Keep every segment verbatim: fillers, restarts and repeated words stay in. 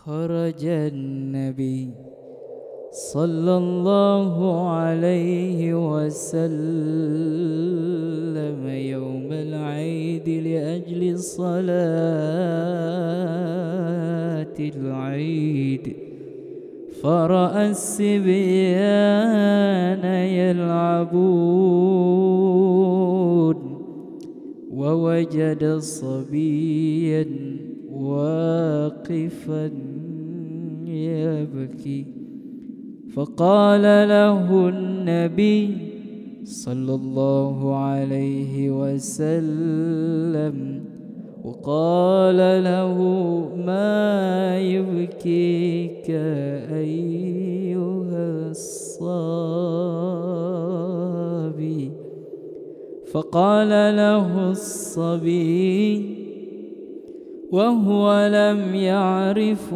خرج النبي صلى الله عليه وسلم يوم العيد لأجل صلاة العيد، فرأى الصبيان يلعبون، ووجد صبيا واقفا يبكي، فقال له النبي صلى الله عليه وسلم وقال له: ما يبكيك أيها الصبي؟ فقال له الصبي وهو لم يعرف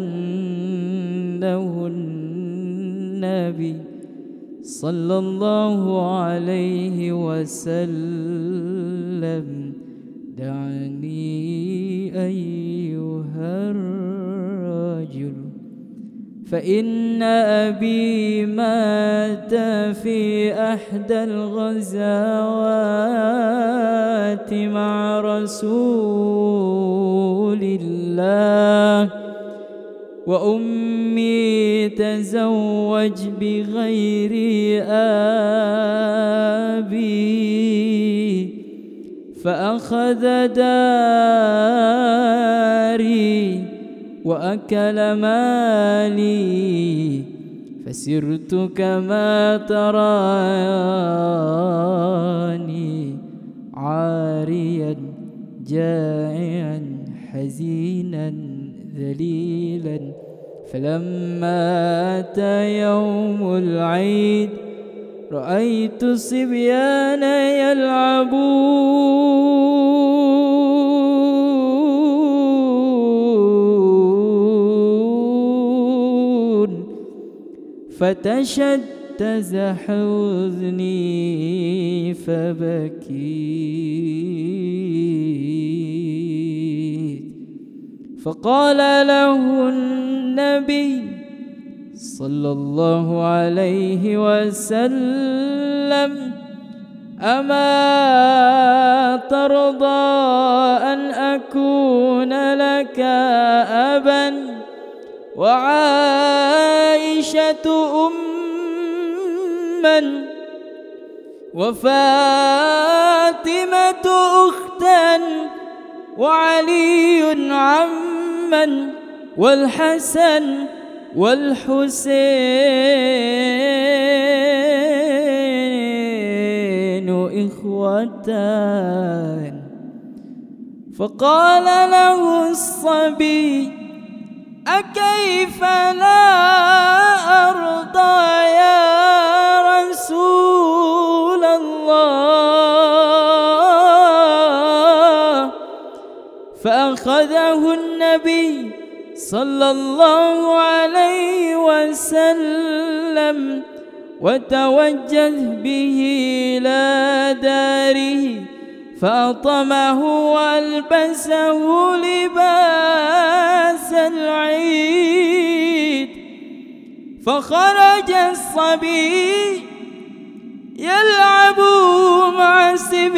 أنه النبي صلى الله عليه وسلم: دعني أيها الرجل، فإن أبي مات في أحدى الغزوات مع رسول الله، وأمي تزوج بغير أبي، فأخذ داري وأكل مالي، فسرت كما تراني، عاريا جائعا حزينا ذليلا. فلما أتى يوم العيد رأيت الصبيان يلعبون، فتشتت حزني فبكيت، فقال له النبي صلى الله عليه وسلم: أما ترضى أن أكون لك أبا وعائشة أما وفاطمة أختا وعلي عما والحسن والحسين إخوتان؟ فقال له الصبي: أكيف لا أرضى يا رسول الله؟ فأخذه النبي صلى الله عليه وسلم وتوجه به إلى داره، فأطمه وألبسه لباس العيد، فخرج الصبي يلعب مع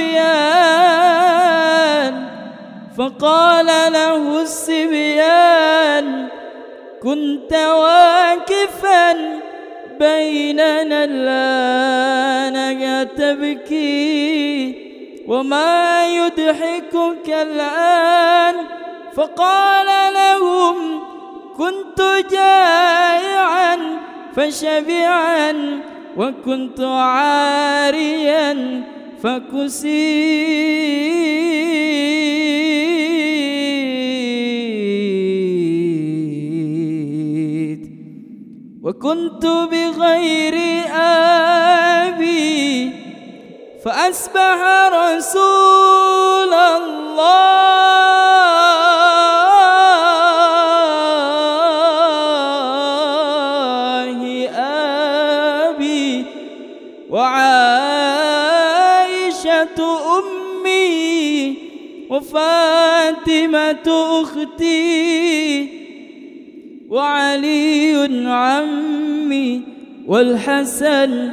الصبيان، فقال له الصبيان: كنت واقفا بيننا الآن تبكي، وما يضحكك الآن؟ فقال لهم: كنت جائعا فشبعا، وكنت عاريا فكسيت، وكنت بغير أبي، فأصبح رسول الله أبي، وعائشة أمي، وفاطمة أختي، وعلي عمي والحسن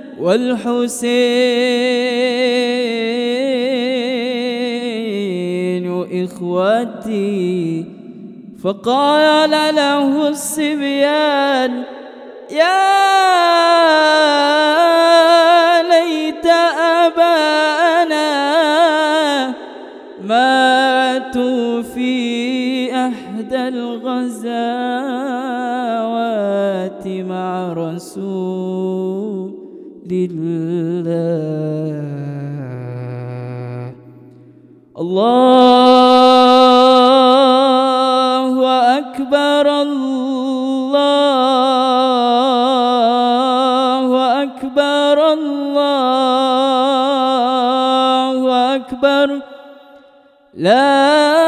والحسين إخوتي. فقال له الصبيان يا ليت أبانا ماتوا في أحدى الغزوات مع رسول الله. الله أكبر الله أكبر الله أكبر لا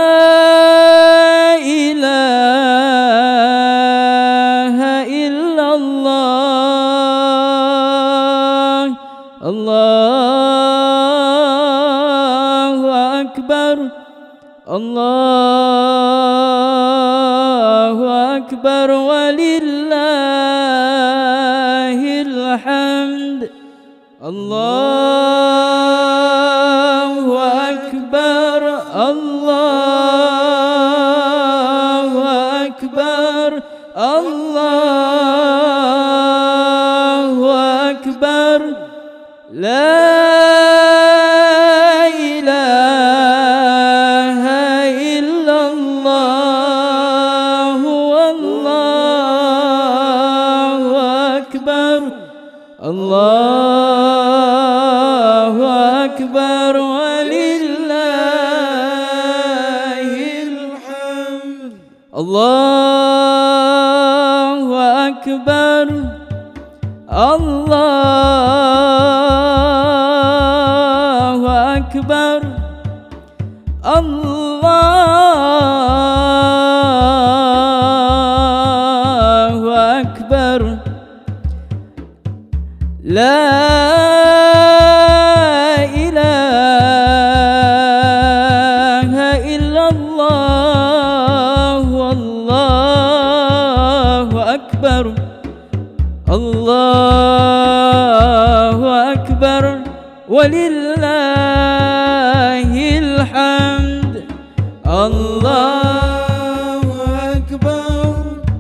إله إلا الله. الله أكبر الله أكبر ولله الحمد. الله أكبر الله أكبر الله أكبر لا إله إلا الله. والله أكبر الله أكبر ولله الحمد. الله أكبر الله أكبر الله أكبر لا إله إلا الله. والله أكبر الله أكبر ولله الحمد. الله أكبر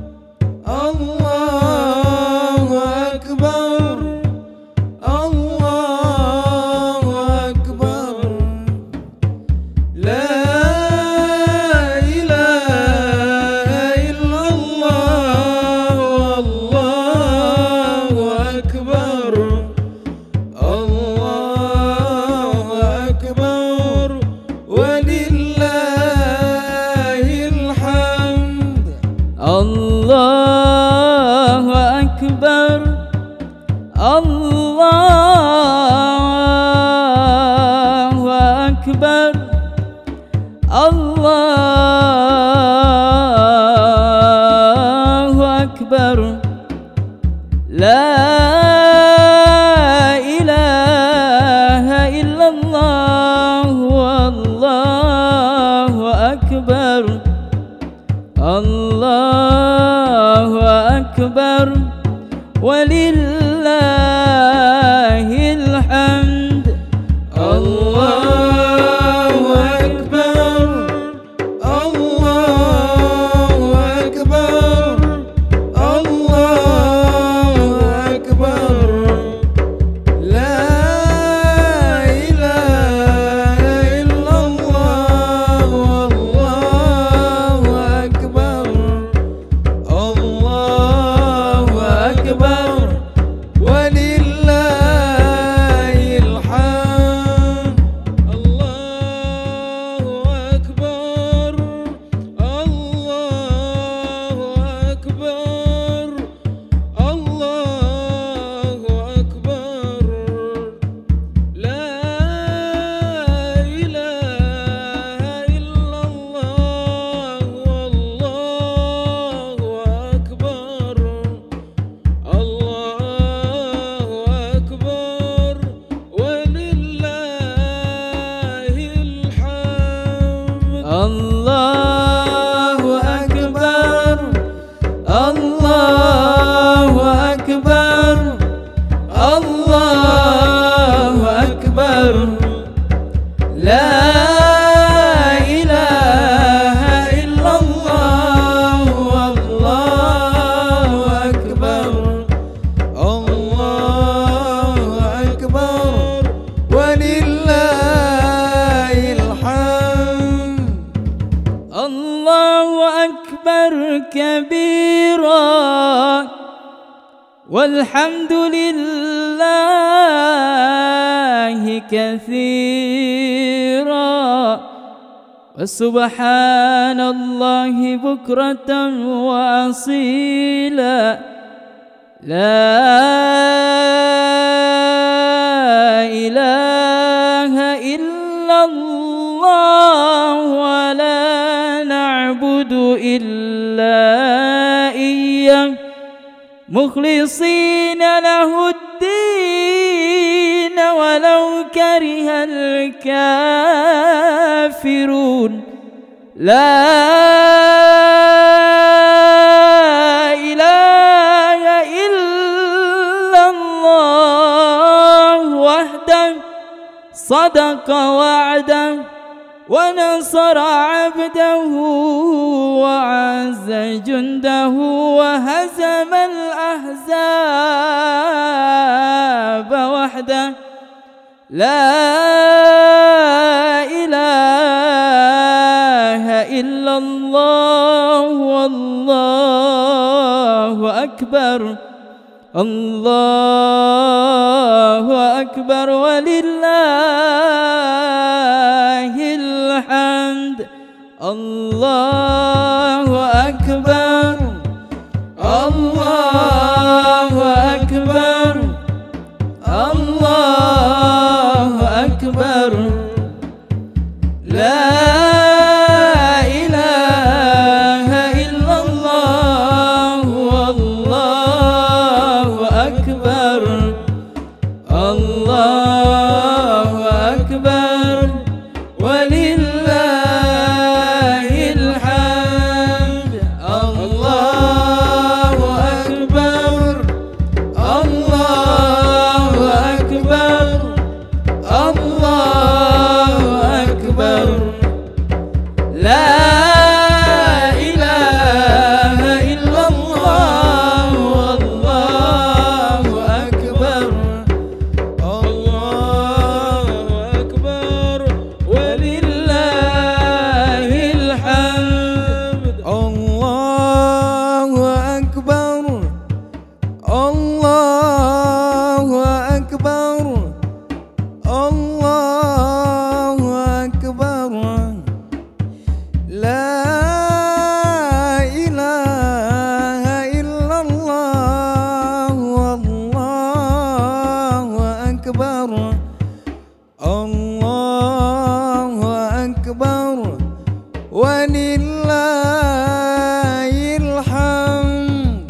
الله أكبر الله أكبر لا إله إلا الله. والله أكبر الله أكبر ولله الحمد. الله أكبر الله أكبر الله أكبر لا إله إلا الله. والله أكبر الله أكبر ولله الحمد. الله أكبر الله أكبر الله أكبر لا إله إلا الله. والله أكبر الله أكبر أكبر كبيرا والحمد لله كثيرا وسبحان الله بكرة وأصيلا لا إله إلا الله ولا نعبد إلا إياه مخلصين له الدين ولو كره الكافرون لا إله إلا الله وحده صدق وعده ونصر عبده وعز جنده وهزم الأحزاب وحده لا إله إلا الله والله أكبر الله أكبر ولله الحمد الله أكبر الله أكبر الله أكبر لا إله إلا الله والله أكبر الله أكبر ولله الحمد الله أكبر الله أكبر الله أكبر لا إله إلا الله والله أكبر الله أكبر ولله الحمد الله أكبر الله أكبر الله أكبر لا إله إلا الله والله أكبر الله أكبر ولله الحمد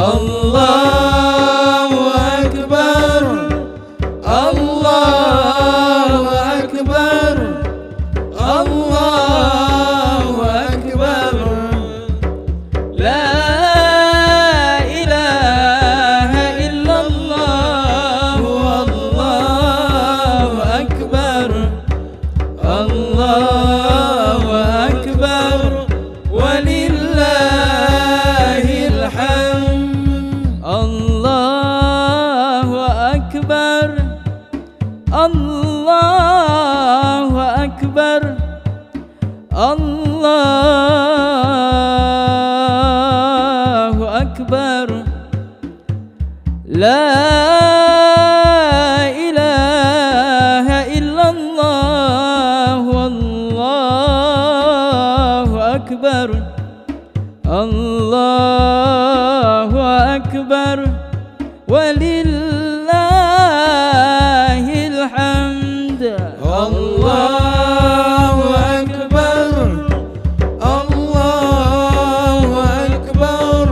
الله أكبر الله أكبر الله أكبر لا إله إلا الله والله أكبر الله أكبر ولله الحمد الله أكبر الله أكبر الله أكبر لا إله إلا الله والله أكبر الله أكبر ولله الحمد الله أكبر الله أكبر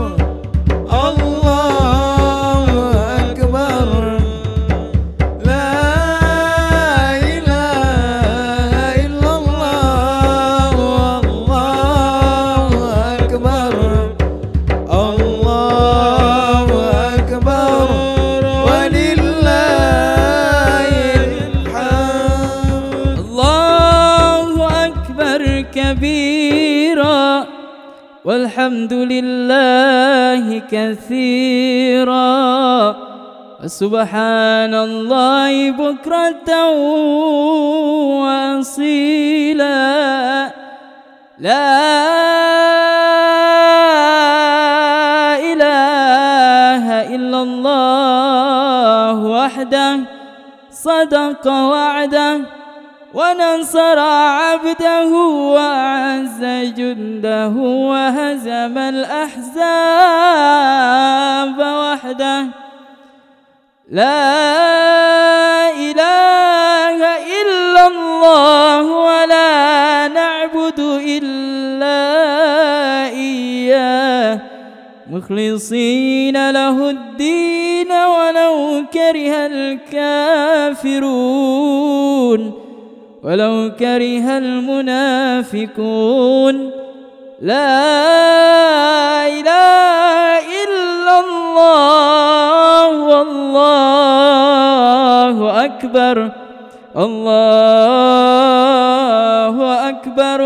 الله أكبر لا إله إلا الله والله أكبر الله أكبر ولله الحمد الله أكبر كبيرا والحمد لله كثيرا وسبحان الله بكرة وأصيلا لا وحده صدق وعده ونصر عبده وأعز جنده وهزم الأحزاب وحده. لا إله إلا الله ولا نعبد إلا إياه مخلصين له الدين ولو كره الكافرون ولو كره المنافقون. لا إله إلا الله والله أكبر الله أكبر